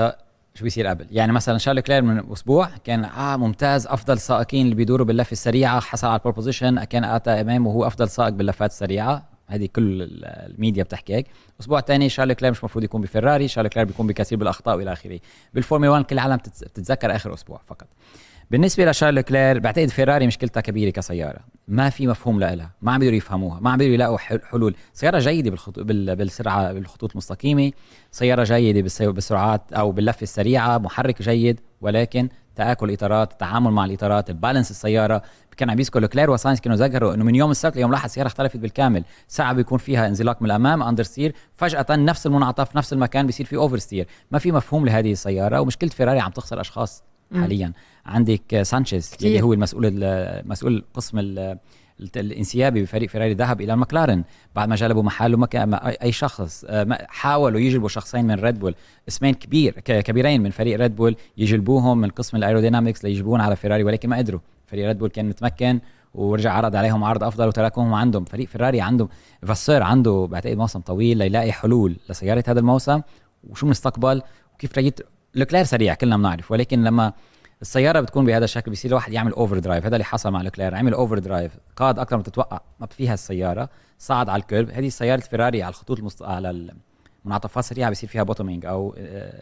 شو بيصير قبل. يعني مثلا شارل كلير من اسبوع كان اه ممتاز، افضل سائقين اللي بيدوروا باللفه السريعه، حصل على البول بوزيشن، كان اتى امام وهو افضل سائق باللفات السريعه. هذه كل الميديا بتحكي هيك. اسبوع ثاني شارل كلير مش مفروض يكون بفيراري، شارل كلير بيكون بكثير بالاخطاء والى اخره. بالفورمولا واحد كل العالم بتتذكر اخر اسبوع فقط. بالنسبه لشارل كلير بعتقد فيراري مشكلتها كبيره كسياره، ما في مفهوم لها، ما عم بيقدروا يفهموها، ما عم بيقدروا يلاقوا حلول. سياره جيده بالخطوط بالسرعه بالخطوط المستقيمه، سياره جيده بالسرعات او باللفه السريعه، محرك جيد، ولكن تآكل اطارات، التعامل مع الاطارات، البالانس السياره. كان عم يذكر كلير وساينس كانوا ذكروا انه من يوم السبت ليوم الاحد السياره اختلفت بالكامل. ساعه بيكون فيها انزلاق من الامام اندر ستير، فجاه نفس المنعطف نفس المكان بيصير فيه اوفر ستير. ما في مفهوم لهذه السياره، ومشكله فيراري عم تخسر اشخاص حاليا. عندك سانشيز اللي هو المسؤول المسؤول قسم الانسيابي بفريق فيراري، ذهب الى المكلارن بعد ما جلبوا محله مكان اي شخص. حاولوا يجلبوا شخصين من ريد بول، اسمين كبير كبيرين من فريق ريد بول، يجلبوهم من قسم الايرودينامكس ليجيبون على فيراري، ولكن ما قدروا. فريق ريد بول كان متمكن ورجع عرض عليهم عرض افضل وتركوهم عندهم. فريق فيراري عنده فاسير عنده بعتقد موسم طويل ليلاقي حلول لسياره هذا الموسم وشو مستقبل وكيف ريت. لوكلير سريع كلنا بنعرف، ولكن لما السياره بتكون بهذا الشكل بيصير الواحد يعمل اوفر درايف. هذا اللي حصل مع لوكلير، عمل اوفر درايف، قاد اكثر ما تتوقع ما فيها السياره، صعد على الكيرف. هذه سياره فيراري على الخطوط المست... على المنعطفات السريعه بيصير فيها بوتومينج او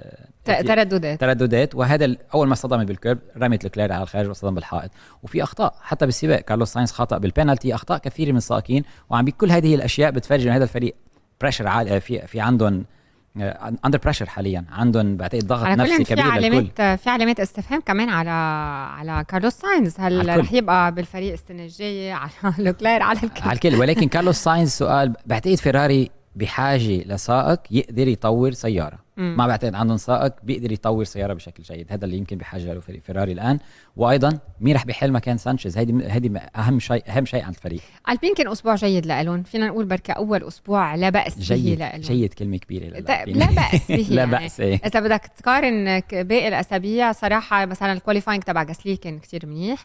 ترددات ترددات وهذا اول ما صدم بالكيرف رمت لوكلير على الخارج وصدم بالحائط. وفي اخطاء حتى بالسباق، كارلوس ساينز خطا بالبينالتي، اخطاء كثيره من السائقين. وعم بكل هذه الاشياء بتفرج انه هذا الفريق بريشر عالي، في في عندهم اندر بريشر حاليا، عندهم بعتقد ضغط نفسي كبير في علامات للكل. في علامات استفهام كمان على على كارلوس ساينز، هل رح يبقى بالفريق السنه الجايه؟ على لوكلير، على الكل على الكل. ولكن كارلوس ساينز سؤال، بعتقد فيراري بحاجه لسائق يقدر يطور سياره. مم. ما بعتقد عندهم سائق بيقدر يطور سياره بشكل جيد، هذا اللي يمكن بحاجه له فريق فيراري الان. وايضا مين رح بيحل مكان سانشيز؟ هيدي هيدي اهم شيء اهم شيء عند الفريق. البين كان اسبوع جيد لهم، فينا نقول بركه اول اسبوع لا باس به لهم. جيد كلمه كبيره للألبين. لا باس به لا يعني. باس إيه؟ اذا بدك تقارن باقي الاسابيع صراحه مثلا الكواليفاينج تبع غاسلي كان كتير منيح،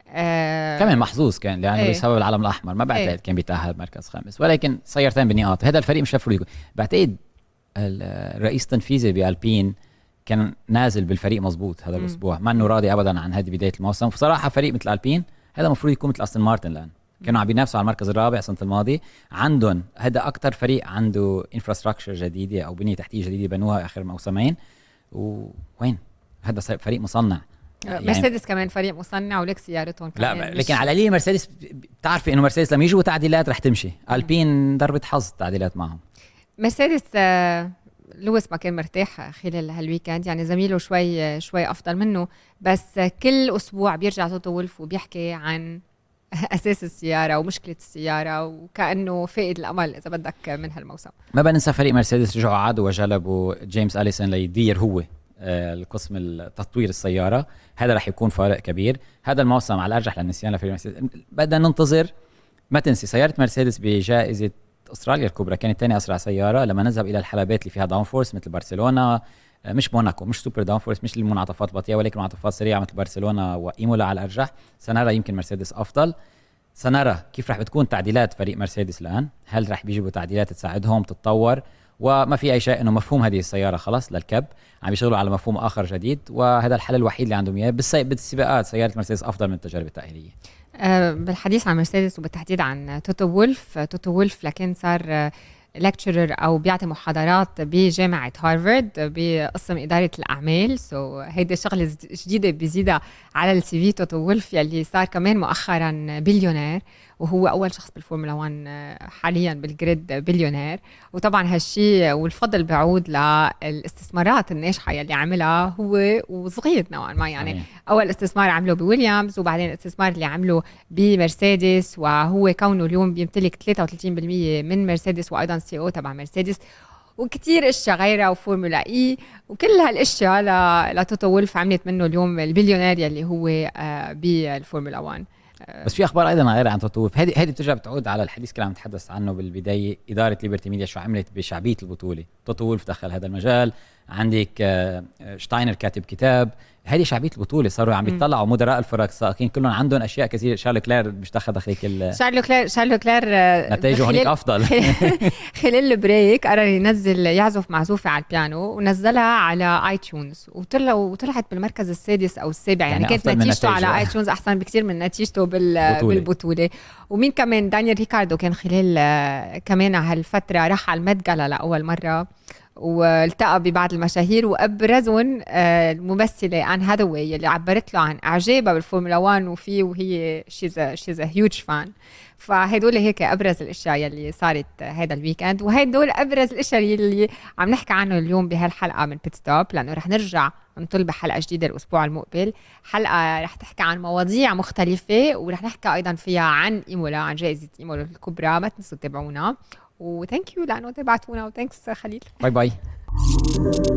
آه كمان محظوظ كان لانه ايه؟ بسبب العلم الاحمر ما بعتقد ايه؟ كان بيتاهل مركز خامس، ولكن سيارتين بنقاط. هذا الفريق مش مفروض يكون. بعتقد الرئيس التنفيذي بألبين كان نازل بالفريق مزبوط هذا الاسبوع، ما انه راضي ابدا عن هذه بدايه الموسم. بصراحه فريق مثل ألبين هذا المفروض يكون مثل استون مارتن الان، كانوا عم بينافسوا على المركز الرابع السنه الماضيه. عندهم هذا اكثر فريق عنده انفراستراكشر جديده او بنيه تحتيه جديده بنوها اخر موسمين. وين هذا فريق مصنع يعني مرسيدس كمان فريق مصنع ولك سيارتهم كمان. لا لكن على القليل مرسيدس بتعرفي انه مرسيدس لما يجوا تعديلات رح تمشي. ألبين ضربة حظ تعديلات معهم. مرسيدس لويس ما كان مرتاح خلال هالويكند، يعني زميله شوي شوي افضل منه، بس كل اسبوع بيرجع توتو وولف وبيحكي عن اساس السياره ومشكله السياره وكانه فائد الامل اذا بدك من هالموسم. ما بننسى فريق مرسيدس رجعوا عادوا وجلبوا جيمس أليسون ليدير هو القسم التطوير السياره. هذا رح يكون فارق كبير هذا الموسم على الارجح للنسيان لفريق مرسيدس. بدنا ننتظر. ما تنسي سياره مرسيدس بجائزه استراليا الكبرى كانت ثاني اسرع سياره لما نذهب الى الحلبات اللي فيها داون فورس مثل برشلونه، مش موناكو، مش سوبر داون فورس، مش المنعطفات البطيئه، ولكن منعطفات سريعه مثل برشلونه وايمولا على الارجح. سنرى يمكن مرسيدس افضل. سنرى كيف رح بتكون تعديلات فريق مرسيدس الان، هل رح بيجيبوا تعديلات تساعدهم تتطور؟ وما في اي شيء انه مفهوم هذه السياره خلاص للكب، عم يشتغلوا على مفهوم اخر جديد، وهذا الحل الوحيد اللي عندهم اياه. بالسباقات سياره مرسيدس افضل من التجارب التأهيلية. أه بالحديث عن مرسيدس وبالتحديد عن توتو وولف، توتو وولف لكن صار لكتشرر او بيعطي محاضرات بجامعه هارفارد بقسم اداره الاعمال. سو so, هيدي شغله جديده بيزيدها على السي في توتو وولف يلي صار كمان مؤخرا بليونير، وهو اول شخص بالفورمولا واحد حاليا بالجريد بليونير. وطبعا هالشيء والفضل بعود للاستثمارات الناجحه يلي عملها هو وصغير نوعا ما، يعني اول استثمار عمله بويليامز وبعدين الاستثمار اللي عمله بمرسيدس، وهو كونه اليوم بيمتلك ثلاثة وثلاثين بالمية من مرسيدس وايضا سي او تبع مرسيدس وكتير اشياء غيرها وفورمولا اي وكل هالاشياء لتوتو وولف عملت منه اليوم البليونير يلي هو بالفورمولا واحد. بس في اخبار ايضا غير عن توتو وولف. هذه هذه بترجع بتعود على الحديث اللي عم نتحدث عنه بالبدايه، اداره ليبرتي ميديا شو عملت بشعبيه البطوله. توتو وولف دخل هذا المجال، عندك شتاينر كاتب كتاب، هذه شعبيه البطوله، صاروا عم بيطلعوا مدراء الفرق السائقين كلهم عندهم اشياء كثير. شارل كلير مش دخل هيك شارل كلير شارل كلير نتائجه هنيك افضل. خلال البريك قرر ينزل يعزف معزوفه على البيانو ونزلها على اي تيونز، وطلع وطلعت بالمركز السادس او السابع، يعني, يعني كانت نتيجته على اي تيونز احسن بكثير من نتيجته بال بالبطوله. ومين كمان؟ دانيال ريكاردو كان خلال كمان هالفتره راح على الميد جالا لاول مره والتقى ببعض المشاهير، وابرزهم الممثله آن هاذاواي اللي عبرت له عن اعجابها بالفورمولا واحد وفيه، وهي شيز شيز هيوج فان. فهدول هيك ابرز الاشياء يلي صارت هذا الويكند، وهدول ابرز الاشياء يلي عم نحكي عنه اليوم بهالحلقه من بيت ستوب، لانه رح نرجع نطل بحلقه جديده الاسبوع المقبل، حلقه رح تحكي عن مواضيع مختلفه، ورح نحكي ايضا فيها عن ايمولا، عن جائزه ايمولا الكبرى. ما تنسوا تتابعونا، وثانك يو لانه تابعتونا، وثانكس خليل. باي باي.